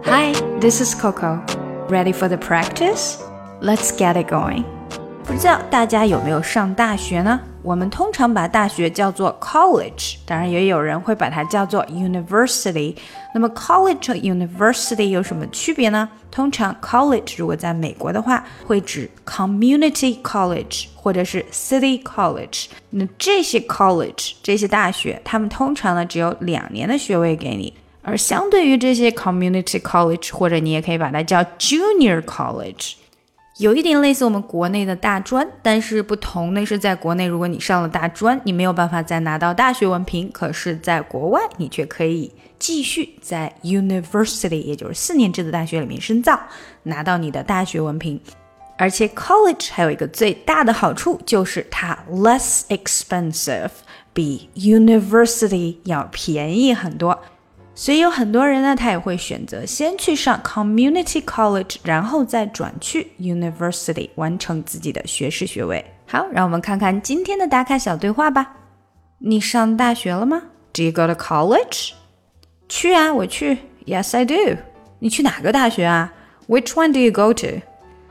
Hi, this is Coco. Ready for the practice? Let's get it going. 不知道大家有没有上大学呢？我们通常把大学叫做 college， 当然也有人会把它叫做 university。那么 college 和 university 有什么区别呢？通常 college 如果在美国的话，会指 community college 或者是 city college。那这些 college 这些大学，他们通常呢只有2年的学位给你。而相对于这些 community college， 或者你也可以把它叫 junior college， 有一点类似我们国内的大专，但是不同的是在国内如果你上了大专，你没有办法再拿到大学文凭，可是在国外你却可以继续在 university， 也就是4年制的大学里面深造，拿到你的大学文凭。而且 college 还有一个最大的好处，就是它 less expensive， 比 university 要便宜很多。所以有很多人呢，他也会选择先去上 community college， 然后再转去 university 完成自己的学士学位。好，让我们看看今天的打卡小对话吧。你上大学了吗？ Do you go to college? 去啊，我去。Yes, I do. 你去哪个大学啊？ Which one do you go to?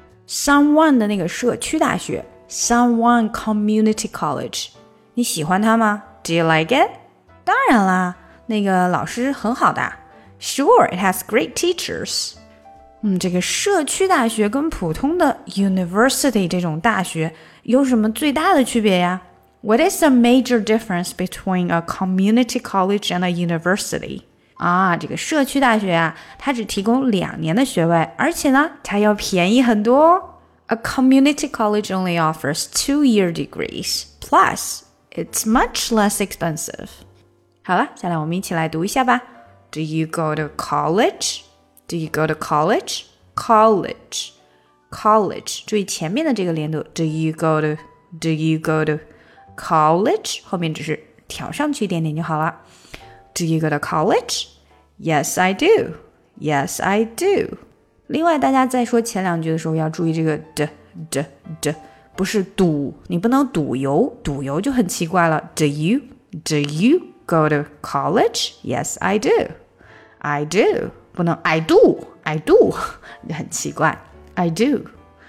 Someone 的那个社区大学 Someone Community College。 你喜欢它吗？ Do you like it? 当然啦，那个老师很好的。 Sure, it has great teachers. 这个社区大学跟普通的 university 这种大学有什么最大的区别呀？ What is the major difference between a community college and a university? 这个社区大学啊，它只提供2年的学位，而且呢，它要便宜很多哦。A community college only offers 2-year degrees, plus it's much less expensive. 好了，下来我们一起来读一下吧。Do you go to college? Do you go to college? College. College. 注意前面的这个连读。Do you go to? Do you go to college? 后面只是调上去一点点就好了。Do you go to college? Yes, I do. Yes, I do. 另外，大家在说前2句的时候要注意这个 d， 不是赌，你不能赌油，赌油就很奇怪了。Do you go to college? Yes, I do. I do. 不能 I do 很奇怪。I do.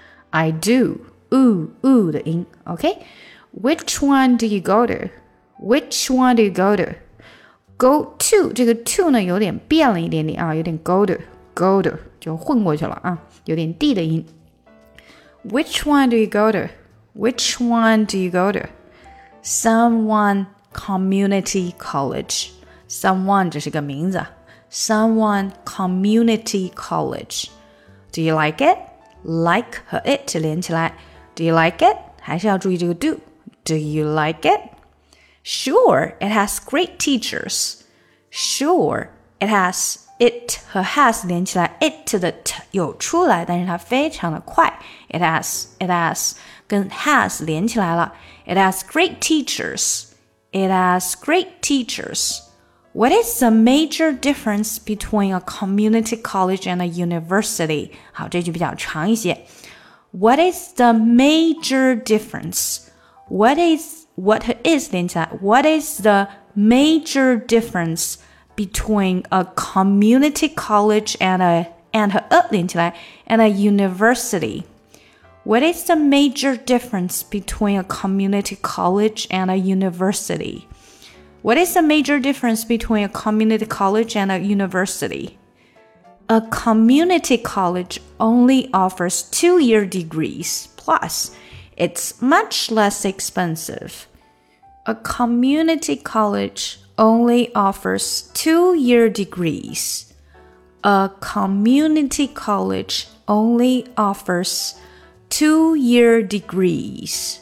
U 的音 OK? Which one do you go to? Which one do you go to? Go to 这个 to 呢有点变了一点点啊，有点 go to 就混过去了啊，有点 d 的音。Which one do you go to? Which one do you go to? Someone Community College. Someone 这是个名字。Someone Community College. Do you like it? Like 和 it 连起来。Do you like it? 还是要注意这个 do. Do you like it?Sure, it has great teachers. Sure, it has. It 和 has 连起来 it 的 t 有出来，但是它非常的快。It has 跟 has 连起来了。It has great teachers. It has great teachers. What is the major difference between a community college and a university? 好，这句比较长一些。What is the major difference? What is 连起来 What is the major difference between a community college and 和连起来 and a university? What is the major difference between a community college and a university? What is the major difference between a community college and a university? A community college only offers 2-year degrees, plus it's much less expensive. A community college only offers 2-year degrees. A community college only offers 2-year degrees.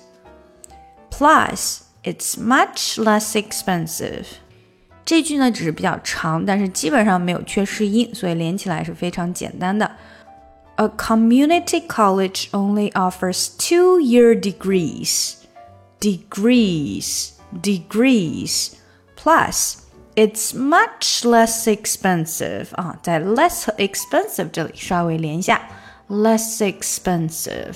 Plus, it's much less expensive. 这句呢只是比较长，但是基本上没有缺失音，所以连起来是非常简单的。A community college only offers 2-year degrees. Degrees. Plus, it's much less expensive. 在 less 和 expensive 这里稍微连一下。Less expensive.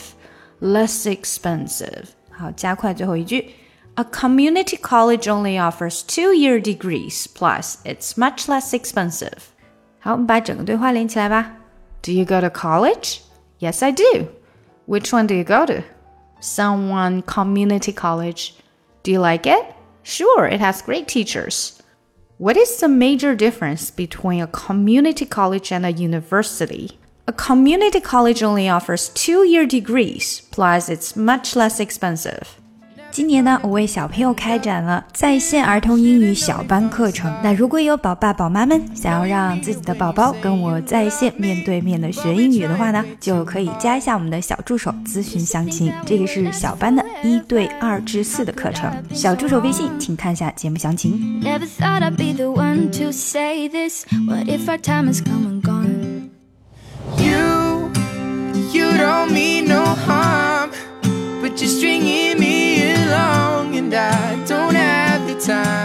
好，加快最后一句。A community college only offers 2-year degrees. Plus, it's much less expensive. 好，我们把整个对话连起来吧。Do you go to college? Yes, I do. Which one do you go to? Someone community college. Do you like it? Sure, it has great teachers. What is the major difference between a community college and a university? A community college only offers 2-year degrees, plus it's much less expensive. 今年呢，我为小朋友开展了在线儿童英语小班课程。那如果有宝爸宝妈们想要让自己的宝宝跟我在线面对面的学英语的话呢，就可以加一下我们的小助手咨询详情。这个是小班的1对2至4的课程，小助手微信请看一下节目详情。Never thought I'd be the one to say this. What if our time has come and gone? You don't mean no harm, but you're stringing me along, and I don't have the time